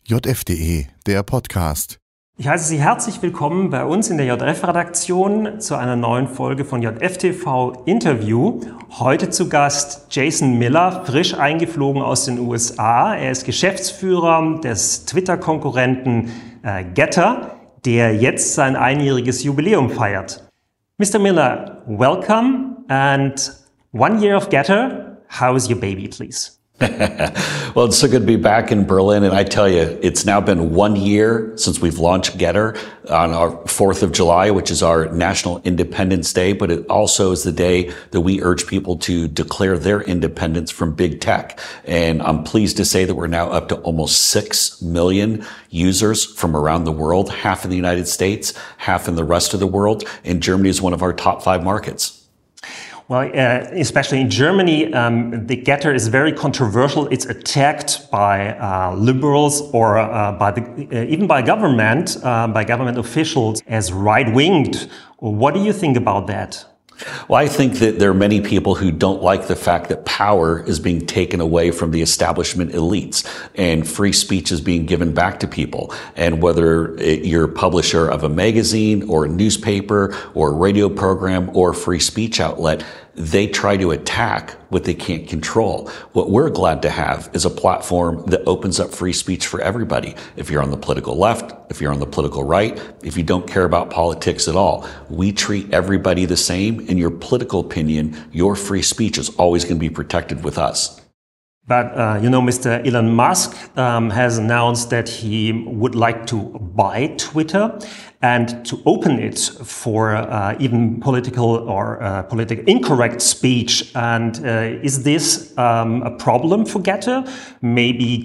JF.de, der Podcast. Ich heiße Sie herzlich willkommen bei uns in der JF-Redaktion zu einer neuen Folge von JF-TV Interview. Heute zu Gast Jason Miller, frisch eingeflogen aus den USA. Er ist Geschäftsführer des Twitter-Konkurrenten Gettr, der jetzt sein einjähriges Jubiläum feiert. Mr. Miller, welcome and 1 year of Gettr. How is your baby, please? Well, it's so good to be back in Berlin. And I tell you, it's now been 1 year since we've launched Gettr on our 4th of July, which is our National Independence Day. But it also is the day that we urge people to declare their independence from big tech. And I'm pleased to say that we're now up to almost 6 million users from around the world, half in the United States, half in the rest of the world. And Germany is one of our top 5 markets. Well, especially in Germany, the Gettr is very controversial. It's attacked by liberals or even by government officials as right-winged. What do you think about that? Well, I think that there are many people who don't like the fact that power is being taken away from the establishment elites and free speech is being given back to people. And whether you're a publisher of a magazine or a newspaper or a radio program or a free speech outlet, they try to attack what they can't control. What we're glad to have is a platform that opens up free speech for everybody. If you're on the political left, if you're on the political right, if you don't care about politics at all, we treat everybody the same. In your political opinion, your free speech is always going to be protected with us. But, Mr. Elon Musk has announced that he would like to buy Twitter and to open it for even political or politically incorrect speech. And is this a problem for Gettr? Maybe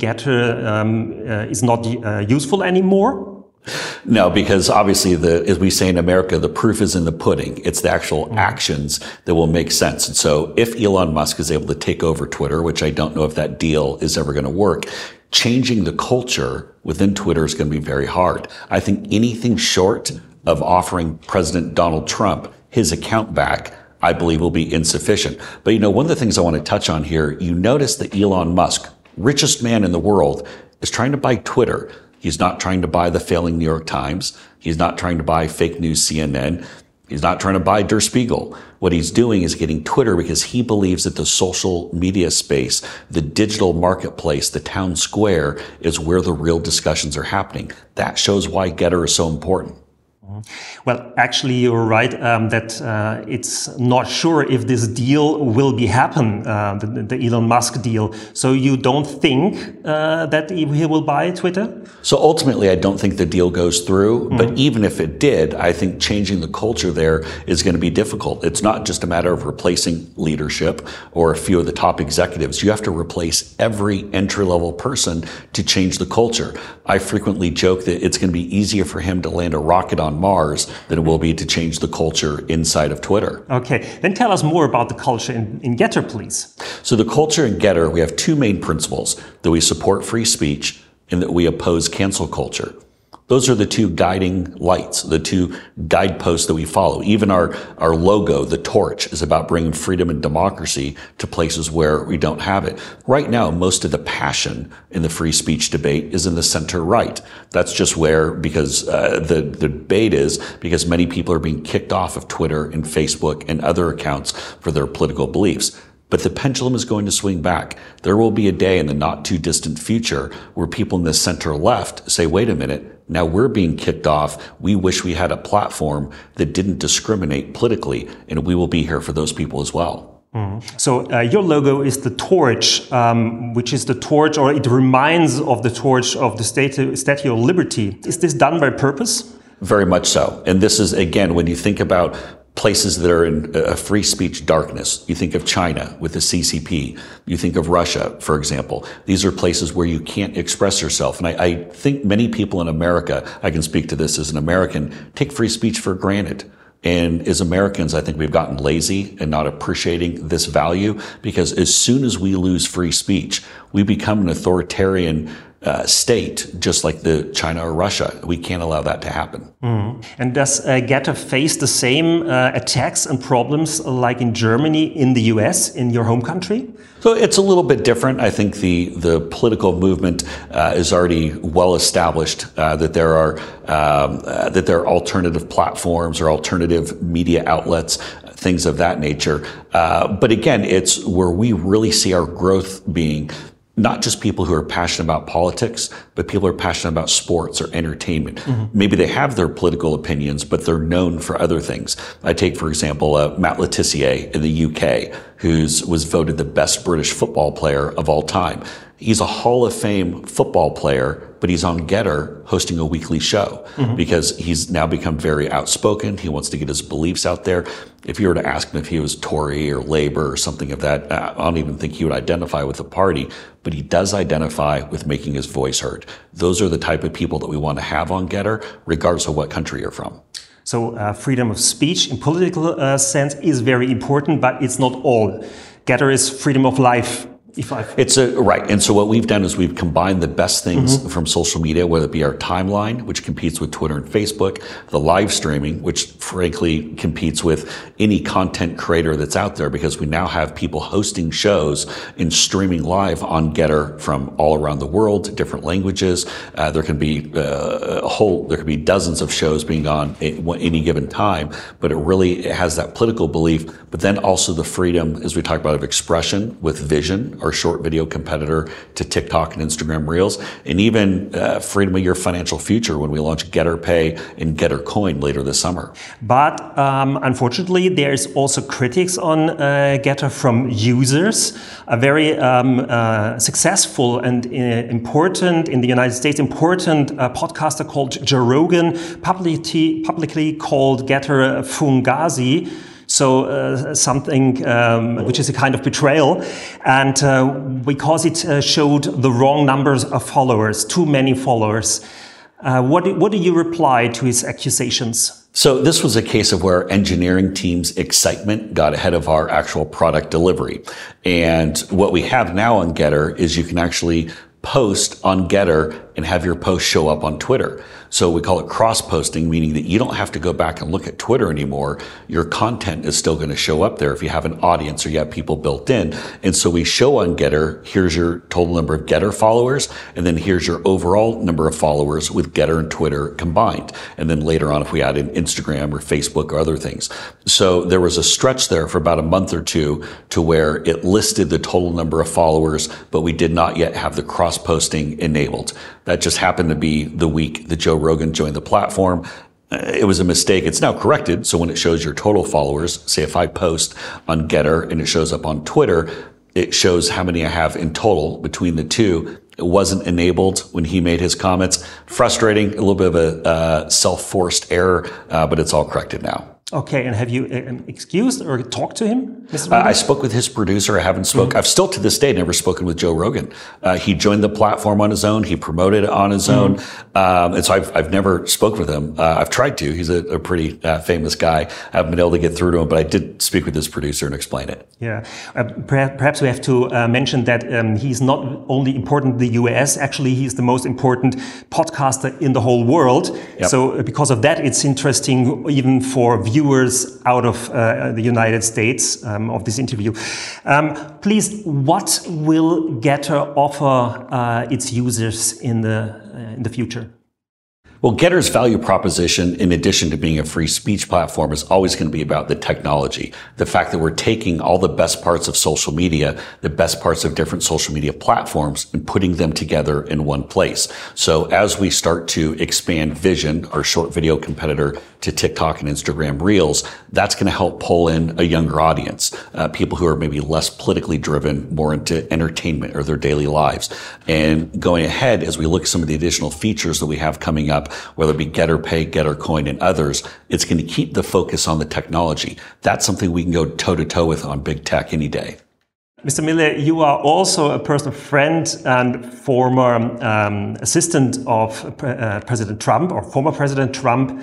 Gettr is not useful anymore? No, because obviously, as we say in America, the proof is in the pudding. It's the actual actions that will make sense. And so if Elon Musk is able to take over Twitter, which I don't know if that deal is ever going to work, changing the culture within Twitter is going to be very hard. I think anything short of offering President Donald Trump his account back, I believe will be insufficient. But, one of the things I want to touch on here, you notice that Elon Musk, richest man in the world, is trying to buy Twitter. He's not trying to buy the failing New York Times. He's not trying to buy fake news CNN. He's not trying to buy Der Spiegel. What he's doing is getting Twitter because he believes that the social media space, the digital marketplace, the town square is where the real discussions are happening. That shows why Gettr is so important. Well, actually, you're right that it's not sure if this deal will happen, the Elon Musk deal. So you don't think that he will buy Twitter? So ultimately, I don't think the deal goes through. But even if it did, I think changing the culture there is going to be difficult. It's not just a matter of replacing leadership or a few of the top executives. You have to replace every entry-level person to change the culture. I frequently joke that it's going to be easier for him to land a rocket on Mars than it will be to change the culture inside of Twitter. Okay, then tell us more about the culture in Gettr, please. So the culture in Gettr, we have 2 main principles: that we support free speech and that we oppose cancel culture. Those are the 2 guiding lights, the 2 guideposts that we follow. Even our logo, the torch, is about bringing freedom and democracy to places where we don't have it. Right now, most of the passion in the free speech debate is in the center right. That's just where, because the debate is because many people are being kicked off of Twitter and Facebook and other accounts for their political beliefs. But the pendulum is going to swing back. There will be a day in the not too distant future where people in the center left say, wait a minute, now we're being kicked off. We wish we had a platform that didn't discriminate politically, and we will be here for those people as well. So your logo is the torch, which is the torch, or it reminds of the torch of the Statue of Liberty. Is this done by purpose? Very much so. And this is, again, when you think about places that are in a free speech darkness. You think of China with the CCP. You think of Russia, for example. These are places where you can't express yourself. And I think many people in America, I can speak to this as an American, take free speech for granted. And as Americans, I think we've gotten lazy and not appreciating this value, because as soon as we lose free speech, we become an authoritarian state, just like the China or Russia. We can't allow that to happen. And does Getter face the same attacks and problems like in Germany, in the US, in your home country? So it's a little bit different. I think the political movement is already well established that there are alternative platforms or alternative media outlets, things of that nature. But again, it's where we really see our growth being not just people who are passionate about politics, but people who are passionate about sports or entertainment. Maybe they have their political opinions, but they're known for other things. I take, for example, Matt Le Tissier in the UK, who was voted the best British football player of all time. He's a Hall of Fame football player, but he's on Getter hosting a weekly show because he's now become very outspoken. He wants to get his beliefs out there. If you were to ask him if he was Tory or Labour or something of that, I don't even think he would identify with the party, but he does identify with making his voice heard. Those are the type of people that we want to have on Getter, regardless of what country you're from. So freedom of speech in political sense is very important, but it's not all. Getter is freedom of life. Right. And so what we've done is we've combined the best things from social media, whether it be our timeline, which competes with Twitter and Facebook, the live streaming, which frankly competes with any content creator that's out there, because we now have people hosting shows and streaming live on Getter from all around the world, different languages. There can be dozens of shows being on at any given time, but it really has that political belief, but then also the freedom, as we talk about, of expression with Vision, our short video competitor to TikTok and Instagram Reels, and even freedom of your financial future when we launch Getter Pay and Getter Coin later this summer. But unfortunately, there's also critics on Getter from users. A very successful and important, in the United States, important podcaster called Joe Rogan publicly called Getter Fugazi. So something which is a kind of betrayal, and because it showed the wrong numbers of followers, too many followers. What do you reply to his accusations? So this was a case of where engineering team's excitement got ahead of our actual product delivery. And what we have now on Getter is you can actually post on Getter and have your post show up on Twitter. So we call it cross-posting, meaning that you don't have to go back and look at Twitter anymore. Your content is still going to show up there if you have an audience or you have people built in. And so we show on Getter, here's your total number of Getter followers, and then here's your overall number of followers with Getter and Twitter combined. And then later on, if we add in Instagram or Facebook or other things. So there was a stretch there for about a month or two to where it listed the total number of followers, but we did not yet have the cross-posting enabled. That just happened to be the week that Joe Rogan joined the platform. It was a mistake. It's now corrected. So when it shows your total followers, say if I post on Getter and it shows up on Twitter, it shows how many I have in total between the two. It wasn't enabled when he made his comments. Frustrating, a little bit of a self-forced error, but it's all corrected now. Okay, and have you excused or talked to him, Mr. I spoke with his producer. I haven't spoken. I've still to this day never spoken with Joe Rogan. He joined the platform on his own. He promoted it on his own. And so I've never spoke with him. I've tried to. He's a pretty famous guy. I haven't been able to get through to him, but I did speak with his producer and explain it. Yeah. Perhaps we have to mention that he's not only important in the US, actually he's the most important podcaster in the whole world. Yep. So because of that, it's interesting even for viewers out of the United States of this interview. Please, what will Getter offer its users in the future? Well, Getter's value proposition, in addition to being a free speech platform, is always going to be about the technology. The fact that we're taking all the best parts of social media, the best parts of different social media platforms, and putting them together in one place. So as we start to expand Vision, our short video competitor, to TikTok and Instagram Reels, that's going to help pull in a younger audience, people who are maybe less politically driven, more into entertainment or their daily lives. And going ahead, as we look at some of the additional features that we have coming up, whether it be Getter Pay, Getter Coin, and others, it's going to keep the focus on the technology. That's something we can go toe-to-toe with on big tech any day. Mr. Miller, you are also a personal friend and former assistant of President Trump, or former President Trump.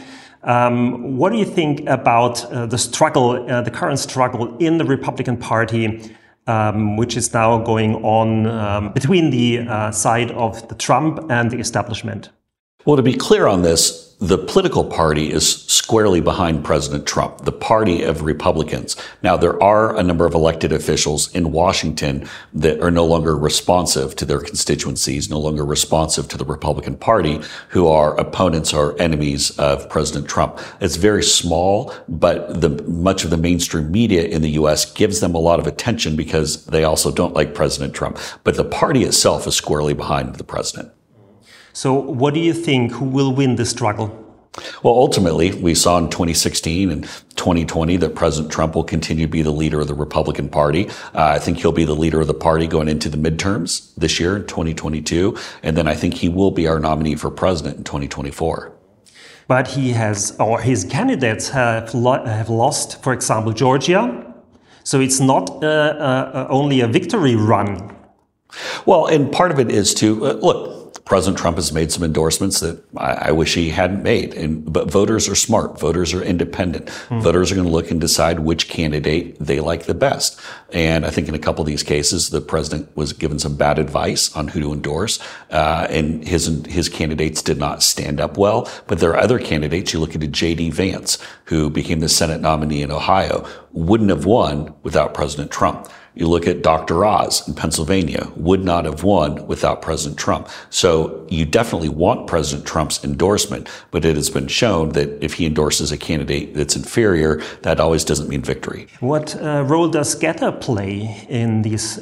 What do you think about the struggle, the current struggle in the Republican Party which is now going on between the side of the Trump and the establishment. Well, to be clear on this, the political party is squarely behind President Trump, the party of Republicans. Now, there are a number of elected officials in Washington that are no longer responsive to their constituencies, no longer responsive to the Republican Party, who are opponents or enemies of President Trump. It's very small, but much of the mainstream media in the U.S. gives them a lot of attention because they also don't like President Trump. But the party itself is squarely behind the president. So what do you think? Who will win the struggle? Well, ultimately, we saw in 2016 and 2020 that President Trump will continue to be the leader of the Republican Party. I think he'll be the leader of the party going into the midterms this year in 2022. And then I think he will be our nominee for president in 2024. But his candidates have lost, for example, Georgia. So it's not only a victory run. Well, and part of it is to, look, President Trump has made some endorsements that I wish he hadn't made. But voters are smart. Voters are independent. Voters are going to look and decide which candidate they like the best. And I think in a couple of these cases, the president was given some bad advice on who to endorse. And his candidates did not stand up well. But there are other candidates. You look at J.D. Vance, who became the Senate nominee in Ohio, wouldn't have won without President Trump. You look at Dr. Oz in Pennsylvania, would not have won without President Trump. So you definitely want President Trump's endorsement, but it has been shown that if he endorses a candidate that's inferior, that always doesn't mean victory. What role does Getter play in these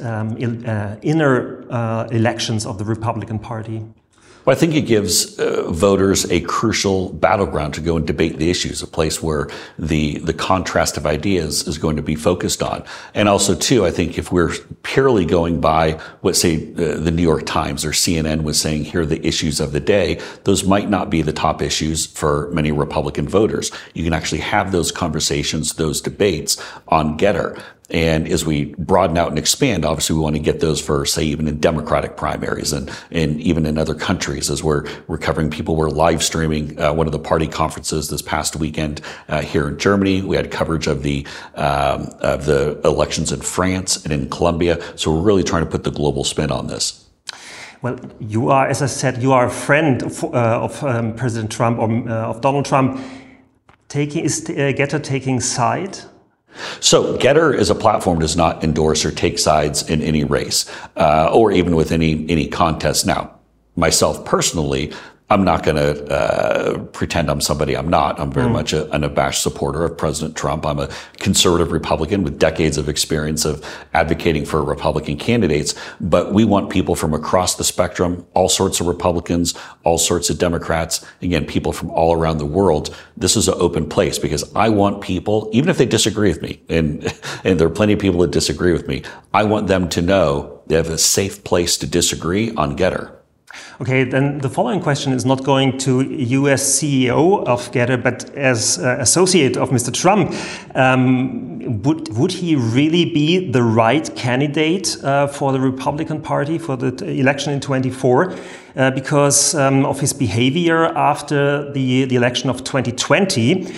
inner elections of the Republican Party? Well, I think it gives voters a crucial battleground to go and debate the issues, a place where the contrast of ideas is going to be focused on. And also, too, I think if we're purely going by what, say, the New York Times or CNN was saying, here are the issues of the day, those might not be the top issues for many Republican voters. You can actually have those conversations, those debates on Getter. And as we broaden out and expand, obviously we want to get those for, say, even in Democratic primaries and even in other countries. As we're covering, people were live streaming one of the party conferences this past weekend here in Germany. We had coverage of the elections in France and in Colombia. So we're really trying to put the global spin on this. Well, you are, as I said, you are a friend of President Trump or of Donald Trump. Is Getter taking side? So Getter as a platform does not endorse or take sides in any race, or even with any contest. Now, myself personally, I'm not going to pretend I'm somebody I'm not. I'm very much an unabashed supporter of President Trump. I'm a conservative Republican with decades of experience of advocating for Republican candidates. But we want people from across the spectrum, all sorts of Republicans, all sorts of Democrats, again, people from all around the world. This is an open place because I want people, even if they disagree with me, and there are plenty of people that disagree with me, I want them to know they have a safe place to disagree on Getter. Okay, then the following question is not going to US CEO of Getter, but as associate of Mr. Trump. Would he really be the right candidate for the Republican Party for the election in 2024 because of his behavior after the election of 2020,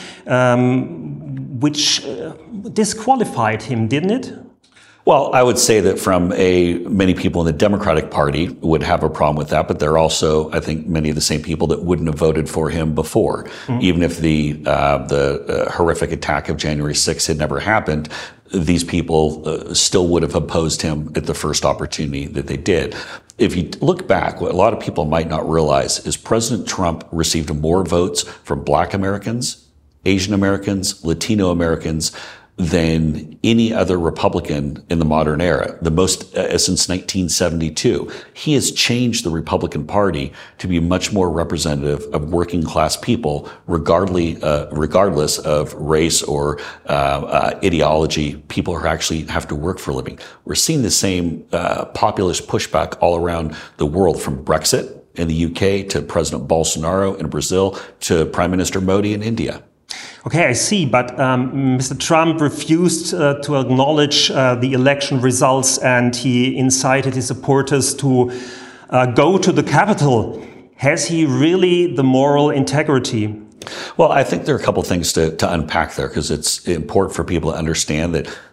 which disqualified him, didn't it? Well, I would say that many people in the Democratic Party would have a problem with that, but there are also, I think, many of the same people that wouldn't have voted for him before. Even if the horrific attack of January 6th had never happened, these people still would have opposed him at the first opportunity that they did. If you look back, what a lot of people might not realize is President Trump received more votes from Black Americans, Asian Americans, Latino Americans, than any other Republican in the modern era, the most since 1972. He has changed the Republican Party to be much more representative of working class people, regardless of race or ideology. People who actually have to work for a living. We're seeing the same populist pushback all around the world, from Brexit in the UK to President Bolsonaro in Brazil to Prime Minister Modi in India. Okay, I see, but Mr. Trump refused to acknowledge the election results, and he incited his supporters to go to the Capitol. Has he really the moral integrity? Well, I think there are a couple of things to unpack there, because it's important for people to understand that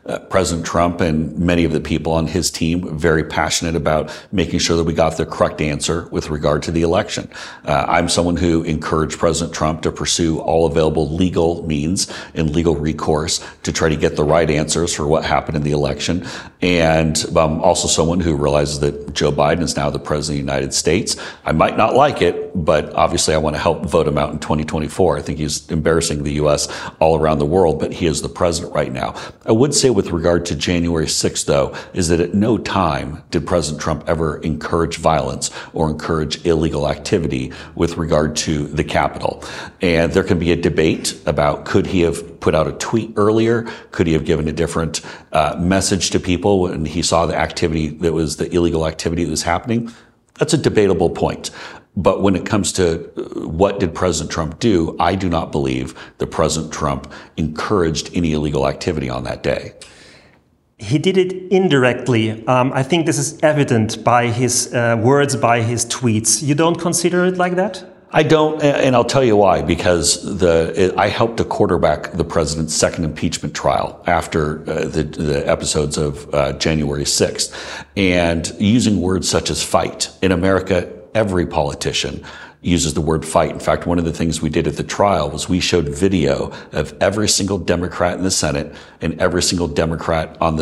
President Trump and many of the people on his team very passionate about making sure that we got the correct answer with regard to the election. I'm someone who encouraged President Trump to pursue all available legal means and legal recourse to try to get the right answers for what happened in the election. And I'm also someone who realizes that Joe Biden is now the president of the United States. I might not like it, but obviously I want to help vote him out in 2024. I think he's embarrassing the U.S. all around the world, but he is the president right now. I would say with regard to January 6th, though, is that at no time did President Trump ever encourage violence or encourage illegal activity with regard to the Capitol. And there can be a debate about could he have put out a tweet earlier? Could he have given a different message to people when he saw the activity that was the illegal activity that was happening? That's a debatable point. But when it comes to what did President Trump do, I do not believe that President Trump encouraged any illegal activity on that day. He did it indirectly. I think this is evident by his words, by his tweets. You don't consider it like that? I don't, and I'll tell you why, because I helped to quarterback the president's second impeachment trial after the episodes of January 6th. And using words such as fight, in America, every politician uses the word fight. In fact, one of the things we did at the trial was we showed video of every single Democrat in the Senate and every single Democrat on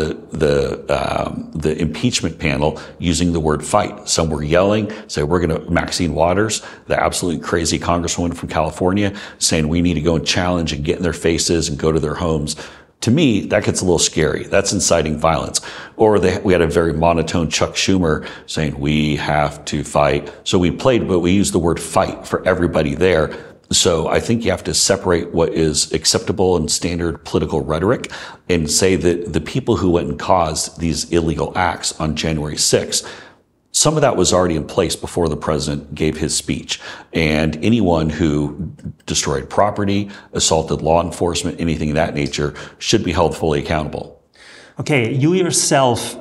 the impeachment panel using the word fight. Some were yelling, saying, we're going to, Maxine Waters, the absolutely crazy congresswoman from California, saying we need to go and challenge and get in their faces and go to their homes. To me, that gets a little scary. That's inciting violence. Or we had a very monotone Chuck Schumer saying, we have to fight. So we played, but we used the word fight for everybody there. So I think you have to separate what is acceptable and standard political rhetoric and say that the people who went and caused these illegal acts on January 6th, some of that was already in place before the president gave his speech. And anyone who destroyed property, assaulted law enforcement, anything of that nature should be held fully accountable. Okay, you yourself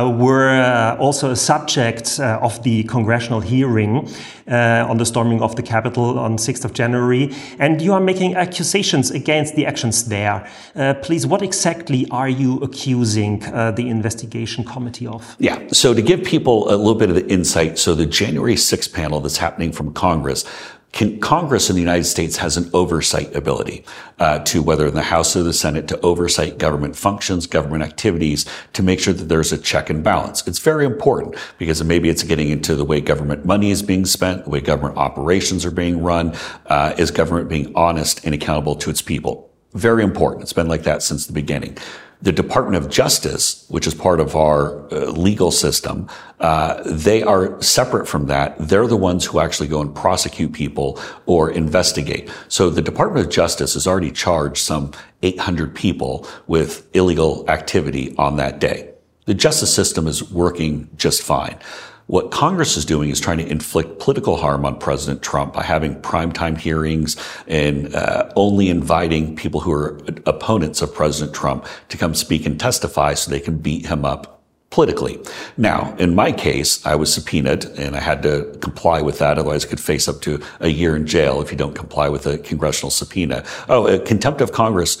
were also a subject of the congressional hearing on the storming of the Capitol on 6th of January, and you are making accusations against the actions there. Please, what exactly are you accusing the investigation committee of? Yeah, so to give people a little bit of the insight, so the January 6th panel that's happening from Congress, Congress in the United States has an oversight ability to, whether in the House or the Senate, to oversight government functions, government activities, to make sure that there's a check and balance. It's very important because maybe it's getting into the way government money is being spent, the way government operations are being run, is government being honest and accountable to its people. Very important. It's been like that since the beginning. The Department of Justice, which is part of our legal system, they are separate from that. They're the ones who actually go and prosecute people or investigate. So the Department of Justice has already charged some 800 people with illegal activity on that day. The justice system is working just fine. What Congress is doing is trying to inflict political harm on President Trump by having primetime hearings and only inviting people who are opponents of President Trump to come speak and testify so they can beat him up politically. Now, in my case, I was subpoenaed and I had to comply with that. Otherwise, I could face up to a year in jail if you don't comply with a congressional subpoena. Contempt of Congress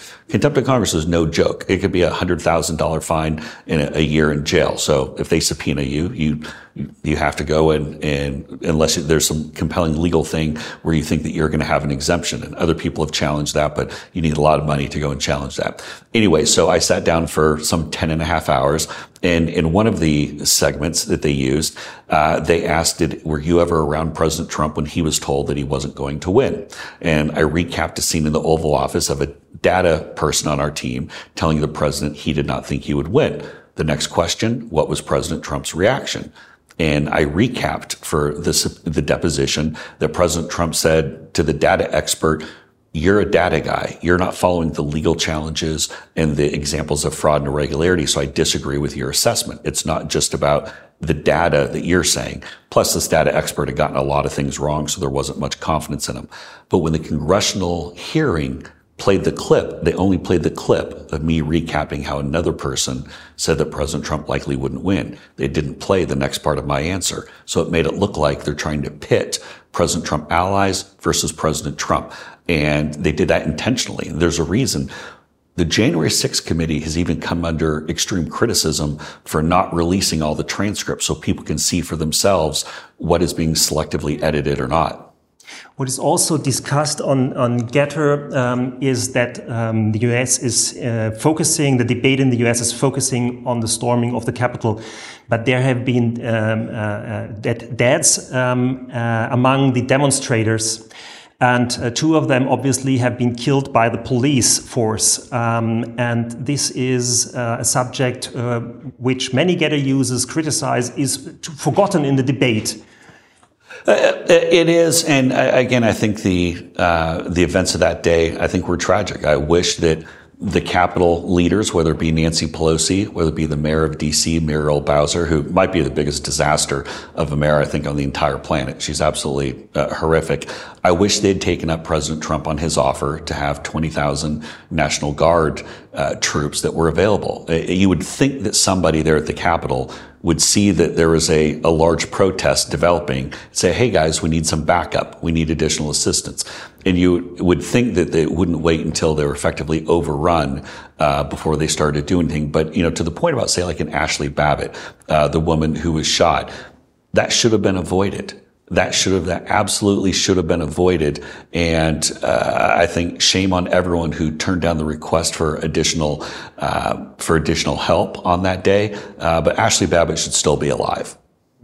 is no joke. It could be $100,000 fine and a year in jail. So if they subpoena you have to go and unless there's some compelling legal thing where you think that you're going to have an exemption, and other people have challenged that, but you need a lot of money to go and challenge that. Anyway, so I sat down for some 10 and a half hours, and in one of the segments that they used, they asked, were you ever around President Trump when he was told that he wasn't going to win? And I recapped a scene in the Oval Office of a data person on our team telling the president he did not think he would win. The next question, what was President Trump's reaction? And I recapped for the deposition that President Trump said to the data expert, you're a data guy. You're not following the legal challenges and the examples of fraud and irregularity. So I disagree with your assessment. It's not just about the data that you're saying. Plus, this data expert had gotten a lot of things wrong, so there wasn't much confidence in him. But when the congressional hearing played the clip, they only played the clip of me recapping how another person said that President Trump likely wouldn't win. They didn't play the next part of my answer. So it made it look like they're trying to pit President Trump allies versus President Trump. And they did that intentionally. And there's a reason. The January 6th committee has even come under extreme criticism for not releasing all the transcripts so people can see for themselves what is being selectively edited or not. What is also discussed on Gettr is that the U.S. is focusing, the debate in the U.S. is focusing on the storming of the Capitol. But there have been deaths among the demonstrators. And two of them obviously have been killed by the police force. And this is a subject which many Gettr users criticize is forgotten in the debate. It is, and again, I think the events of that day, I think were tragic. I wish that the Capitol leaders, whether it be Nancy Pelosi, whether it be the mayor of D.C., Muriel Bowser, who might be the biggest disaster of a mayor, I think, on the entire planet. She's absolutely horrific. I wish they'd taken up President Trump on his offer to have 20,000 National Guard troops that were available. You would think that somebody there at the Capitol would see that there was a large protest developing, say, hey guys, we need some backup. We need additional assistance. And you would think that they wouldn't wait until they were effectively overrun before they started doing anything. But, to the point about, say, like an Ashley Babbitt, the woman who was shot, that should have been avoided. That absolutely should have been avoided. And I think shame on everyone who turned down the request for additional help on that day. But Ashley Babbitt should still be alive.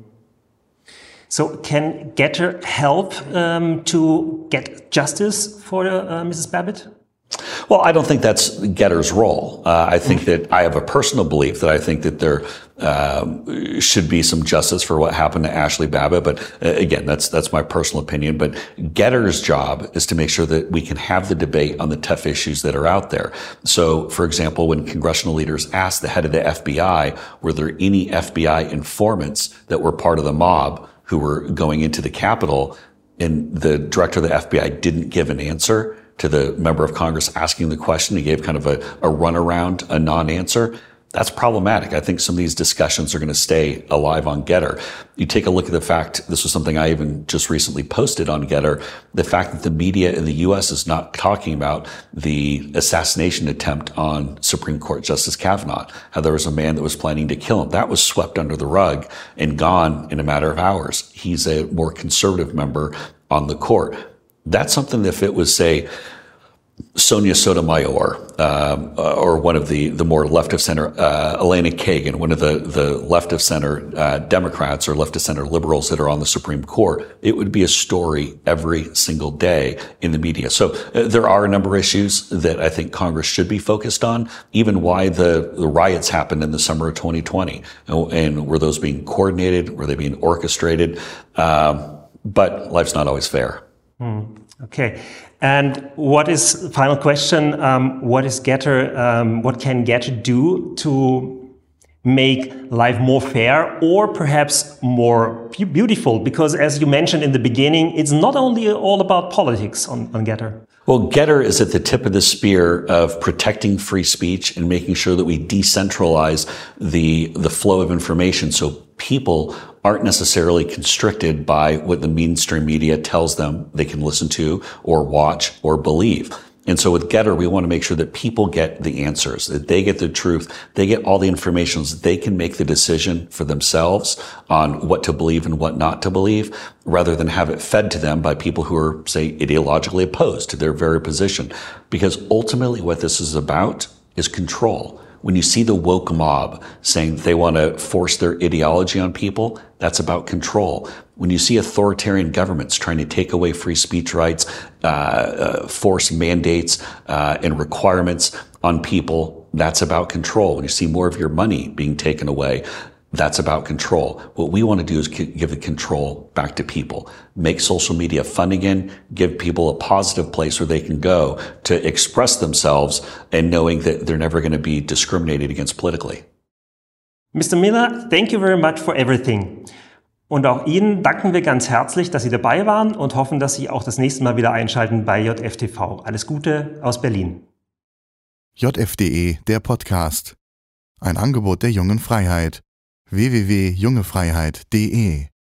So can Gettr help to get justice for Mrs. Babbitt? Well, I don't think that's Gettr's role. I think that I have a personal belief that I think that there should be some justice for what happened to Ashley Babbitt. But again, that's my personal opinion. But Gettr's job is to make sure that we can have the debate on the tough issues that are out there. So, for example, when congressional leaders asked the head of the FBI, were there any FBI informants that were part of the mob who were going into the Capitol, and the director of the FBI didn't give an answer to the member of Congress asking the question. He gave kind of a runaround, a non-answer. That's problematic. I think some of these discussions are going to stay alive on Gettr. You take a look at the fact, this was something I even just recently posted on Gettr, the fact that the media in the U.S. is not talking about the assassination attempt on Supreme Court Justice Kavanaugh, how there was a man that was planning to kill him. That was swept under the rug and gone in a matter of hours. He's a more conservative member on the court. That's something that if it was, say, Sonia Sotomayor, or one of the more left of center, Elena Kagan, one of the left of center Democrats or left of center liberals that are on the Supreme Court, it would be a story every single day in the media. So there are a number of issues that I think Congress should be focused on, even why the riots happened in the summer of 2020. And were those being coordinated? Were they being orchestrated? But life's not always fair. Okay. And final question, what can Gettr do to make life more fair or perhaps more beautiful? Because as you mentioned in the beginning, it's not only all about politics on Gettr. Well, Gettr is at the tip of the spear of protecting free speech and making sure that we decentralize the flow of information so people aren't necessarily constricted by what the mainstream media tells them they can listen to or watch or believe. And so with Gettr, we want to make sure that people get the answers, that they get the truth, they get all the information so that they can make the decision for themselves on what to believe and what not to believe, rather than have it fed to them by people who are, say, ideologically opposed to their very position. Because ultimately what this is about is control. When you see the woke mob saying they want to force their ideology on people, that's about control. When you see authoritarian governments trying to take away free speech rights, force mandates and requirements on people, that's about control. When you see more of your money being taken away, that's about control. What we want to do is give the control back to people. Make social media fun again, give people a positive place where they can go to express themselves and knowing that they're never going to be discriminated against politically. Mr. Miller, thank you very much for everything. Und auch Ihnen danken wir ganz herzlich, dass Sie dabei waren und hoffen, dass Sie auch das nächste Mal wieder einschalten bei JFTV. Alles Gute aus Berlin. JF.de, der Podcast. Ein Angebot der Jungen Freiheit. www.jungefreiheit.de